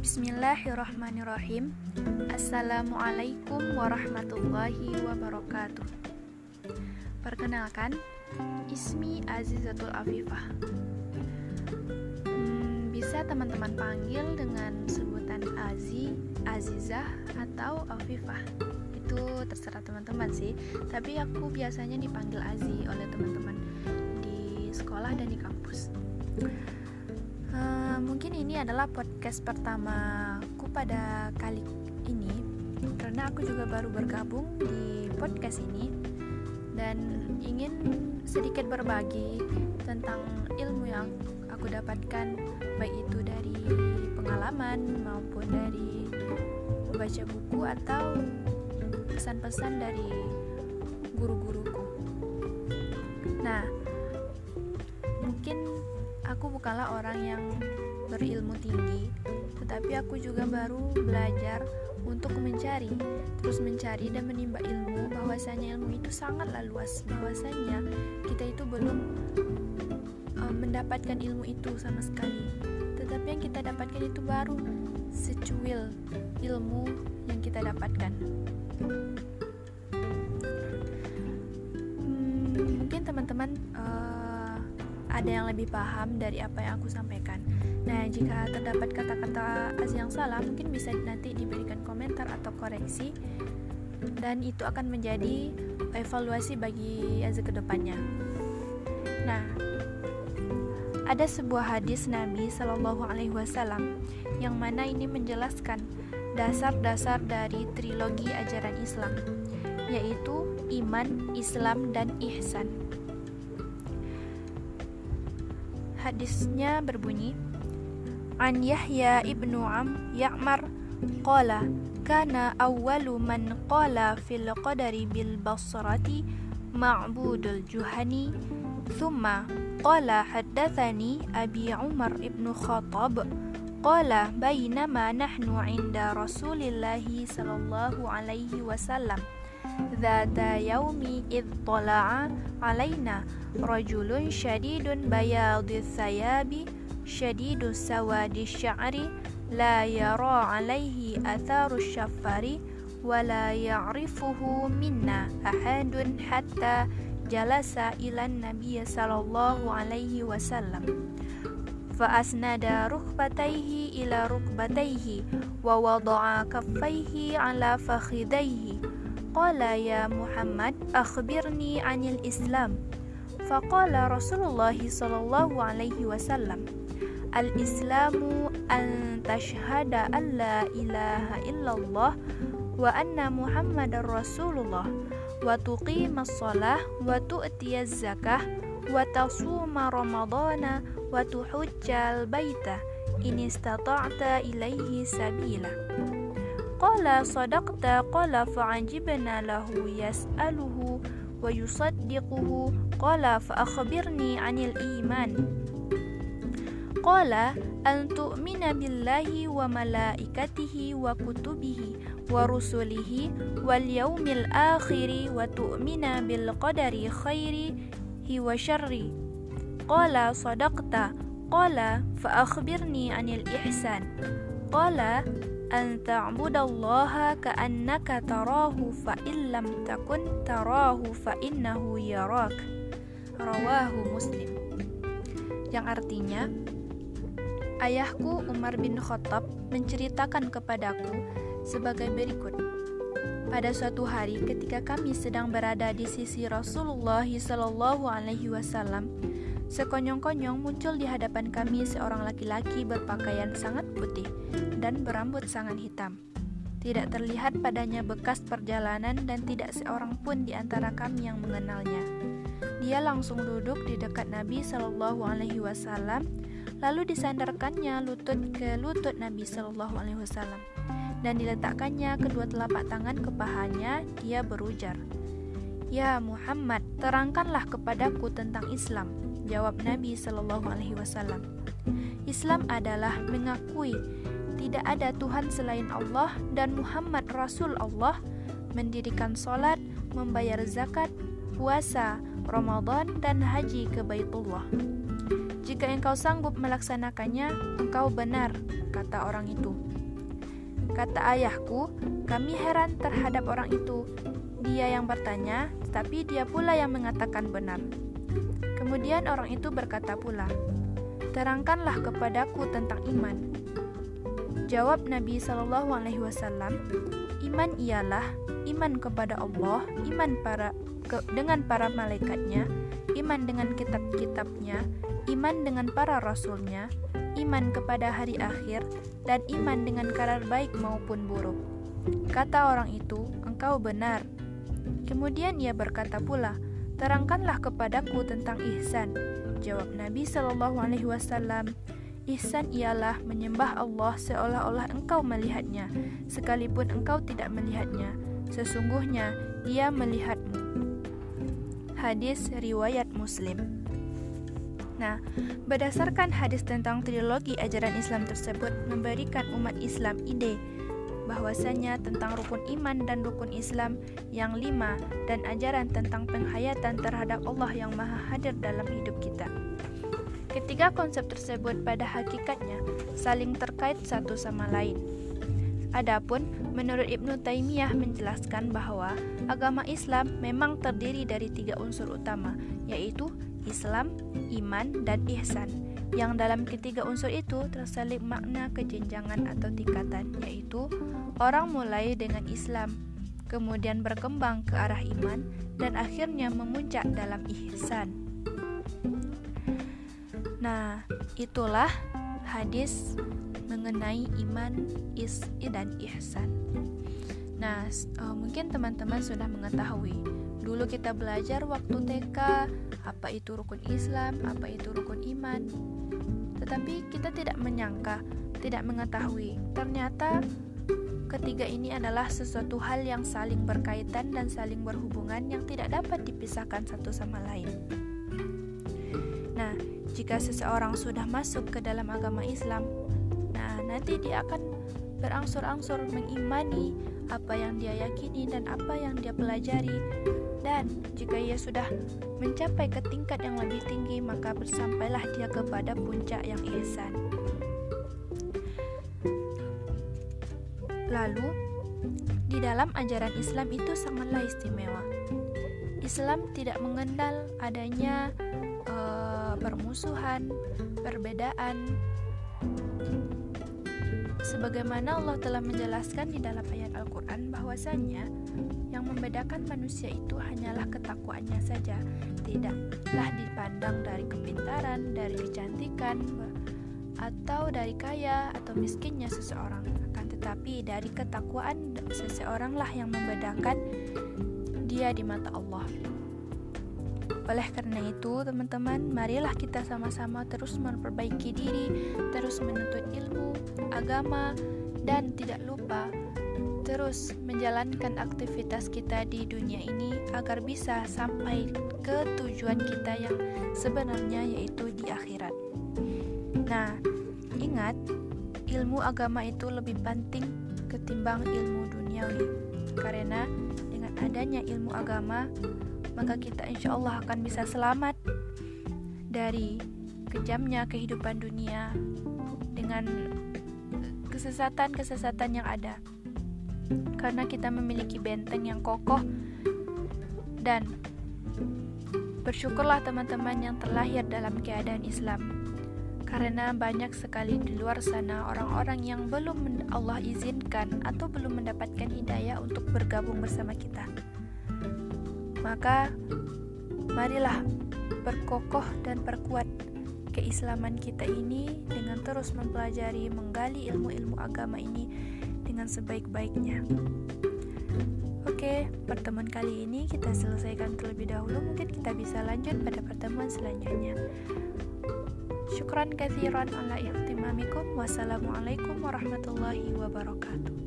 Bismillahirrahmanirrahim. Assalamualaikum warahmatullahi wabarakatuh. Perkenalkan, Ismi Azizatul Afifah. Bisa teman-teman panggil dengan sebutan Azi, Azizah, atau Afifah. Itu terserah teman-teman sih. Tapi aku biasanya dipanggil Azi oleh teman-teman di sekolah dan di kampus. Mungkin ini adalah podcast pertamaku pada kali ini, karena aku juga baru bergabung di podcast ini dan ingin sedikit berbagi tentang ilmu yang aku dapatkan, baik itu dari pengalaman maupun dari baca buku atau pesan-pesan dari guru-guruku. Nah, mungkin aku bukanlah orang yang berilmu tinggi, tetapi aku juga baru belajar untuk mencari dan menimba ilmu, bahwasanya ilmu itu sangatlah luas, bahwasanya kita itu belum mendapatkan ilmu itu sama sekali, tetapi yang kita dapatkan itu baru secuil ilmu yang kita dapatkan. Mungkin teman-teman ada yang lebih paham dari apa yang aku sampaikan. Nah, jika terdapat kata-kata yang salah, mungkin bisa nanti diberikan komentar atau koreksi, dan itu akan menjadi evaluasi bagi Azza ke depannya. Nah, ada sebuah hadis Nabi Shallallahu Alaihi Wasallam yang mana ini menjelaskan dasar-dasar dari trilogi ajaran Islam, yaitu iman, Islam, dan ihsan. Hadisnya berbunyi, An Yahya ibnu Ya'mar qala kana awwalu man qala fil qadari bil basrati Ma'budul Juhani thumma qala haddathani Abi Umar ibnu Khattab qala bainama nahnu 'inda Rasulillahi sallallahu alaihi wasallam Dhata yaumi idh tala'a alaina rajulun syadidun bayadis sayabi syadidus sawadis sya'ri la yara alaihi atharus syafari wa la ya'rifuhu minna ahadun hatta jalasa ilan nabiyya sallallahu alaihi wasallam fa asnada rukbatayhi ila rukbatayhi wa wada'a kaffayhi ala fakhidayhi qala ya Muhammad akhbirni anil Islam faqala Rasulullah sallallahu alaihi wasallam al-islamu an tashhada an la ilaha illallah wa anna Muhammadar Rasulullah wa tuqimas shalah wa tu'tiyaz zakah wa tasuma ramadana wa tuhujjal baita in istata'ta ilaihi sabila. Qala sadaqta qala fa'ajibna lahu yas'aluhu wa yusaddiquhu qala fa'akhbirni 'anil iman. Qala an tu'mina billahi wa malaikatihi wa kutubihi wa rusulihi wal yaumil akhiri wa tu'mina bil qadari khairihi wa syarri. Qala sadaqta qala fa'akhbirni 'anil ihsan. Qala an ta'budallaha ka'annaka tarahu fa illam takun tarahu fa innahu yarak. Rawahu Muslim. Yang artinya, ayahku Umar bin Khattab menceritakan kepadaku sebagai berikut. Pada suatu hari ketika kami sedang berada di sisi Rasulullah sallallahu alaihi wasallam, sekonyong-konyong muncul di hadapan kami seorang laki-laki berpakaian sangat putih dan berambut sangat hitam. Tidak terlihat padanya bekas perjalanan dan tidak seorang pun di antara kami yang mengenalnya. Dia langsung duduk di dekat Nabi Shallallahu Alaihi Wasallam, lalu disandarkannya lutut ke lutut Nabi Shallallahu Alaihi Wasallam dan diletakkannya kedua telapak tangan ke pahanya. Dia berujar, "Ya Muhammad, terangkanlah kepadaku tentang Islam." Jawab Nabi Shallallahu Alaihi Wasallam, Islam adalah mengakui tidak ada Tuhan selain Allah dan Muhammad Rasul Allah, mendirikan sholat, membayar zakat, puasa, Ramadan, dan haji ke Baitullah. Jika engkau sanggup melaksanakannya, engkau benar, kata orang itu. Kata ayahku, kami heran terhadap orang itu. Dia yang bertanya, tetapi dia pula yang mengatakan benar. Kemudian orang itu berkata pula, terangkanlah kepadaku tentang iman. Jawab Nabi SAW, iman ialah iman kepada Allah, iman dengan para malaikatnya, iman dengan kitab-kitabnya, iman dengan para rasulnya, iman kepada hari akhir, dan iman dengan kabar baik maupun buruk. Kata orang itu, engkau benar. Kemudian ia berkata pula, terangkanlah kepadaku tentang ihsan. Jawab Nabi SAW, ihsan ialah menyembah Allah seolah-olah engkau melihatnya, sekalipun engkau tidak melihatnya. Sesungguhnya Dia melihatmu. Hadis riwayat Muslim. Nah, berdasarkan hadis tentang trilogi ajaran Islam tersebut memberikan umat Islam ide bahwasanya tentang rukun iman dan rukun Islam yang 5 dan ajaran tentang penghayatan terhadap Allah yang maha hadir dalam hidup kita. Ketiga konsep tersebut pada hakikatnya saling terkait satu sama lain. Adapun menurut Ibnu Taimiyah menjelaskan bahwa agama Islam memang terdiri dari 3 unsur utama, yaitu Islam, iman, dan ihsan. Yang dalam ketiga unsur itu terselip makna kejenjangan atau tingkatan, yaitu orang mulai dengan Islam, kemudian berkembang ke arah iman, dan akhirnya memuncak dalam ihsan. Nah, itulah hadis mengenai iman, dan ihsan. Nah, mungkin teman-teman sudah mengetahui. Dulu kita belajar waktu TK, apa itu rukun Islam, apa itu rukun iman. Tetapi kita tidak menyangka, tidak mengetahui. Ternyata ketiga ini adalah sesuatu hal yang saling berkaitan dan saling berhubungan yang tidak dapat dipisahkan satu sama lain. Nah, jika seseorang sudah masuk ke dalam agama Islam, nanti dia akan berangsur-angsur mengimani apa yang dia yakini dan apa yang dia pelajari. Dan jika ia sudah mencapai ke tingkat yang lebih tinggi, maka bersampailah dia kepada puncak yang ihsan. Lalu, di dalam ajaran Islam itu sangatlah istimewa. Islam tidak mengenal adanya permusuhan, perbedaan. Sebagaimana Allah telah menjelaskan di dalam ayat Al-Quran bahwasanya yang membedakan manusia itu hanyalah ketakwaannya saja, tidaklah dipandang dari kepintaran, dari kecantikan, atau dari kaya atau miskinnya seseorang, akan tetapi dari ketakwaan seseoranglah yang membedakan dia di mata Allah. Oleh karena itu, teman-teman, marilah kita sama-sama terus memperbaiki diri, terus menuntut ilmu, agama, dan tidak lupa terus menjalankan aktivitas kita di dunia ini agar bisa sampai ke tujuan kita yang sebenarnya, yaitu di akhirat. Nah, ingat, ilmu agama itu lebih penting ketimbang ilmu duniawi, karena dengan adanya ilmu agama maka kita insya Allah akan bisa selamat dari kejamnya kehidupan dunia dengan kesesatan-kesesatan yang ada. Karena kita memiliki benteng yang kokoh, dan bersyukurlah teman-teman yang terlahir dalam keadaan Islam. Karena banyak sekali di luar sana orang-orang yang belum Allah izinkan atau belum mendapatkan hidayah untuk bergabung bersama kita. Maka marilah berkokoh dan perkuat keislaman kita ini dengan terus mempelajari, menggali ilmu-ilmu agama ini dengan sebaik-baiknya. Oke, pertemuan kali ini kita selesaikan terlebih dahulu. Mungkin kita bisa lanjut pada pertemuan selanjutnya. Syukran katsiran ala ihtimamikum. Wassalamualaikum warahmatullahi wabarakatuh.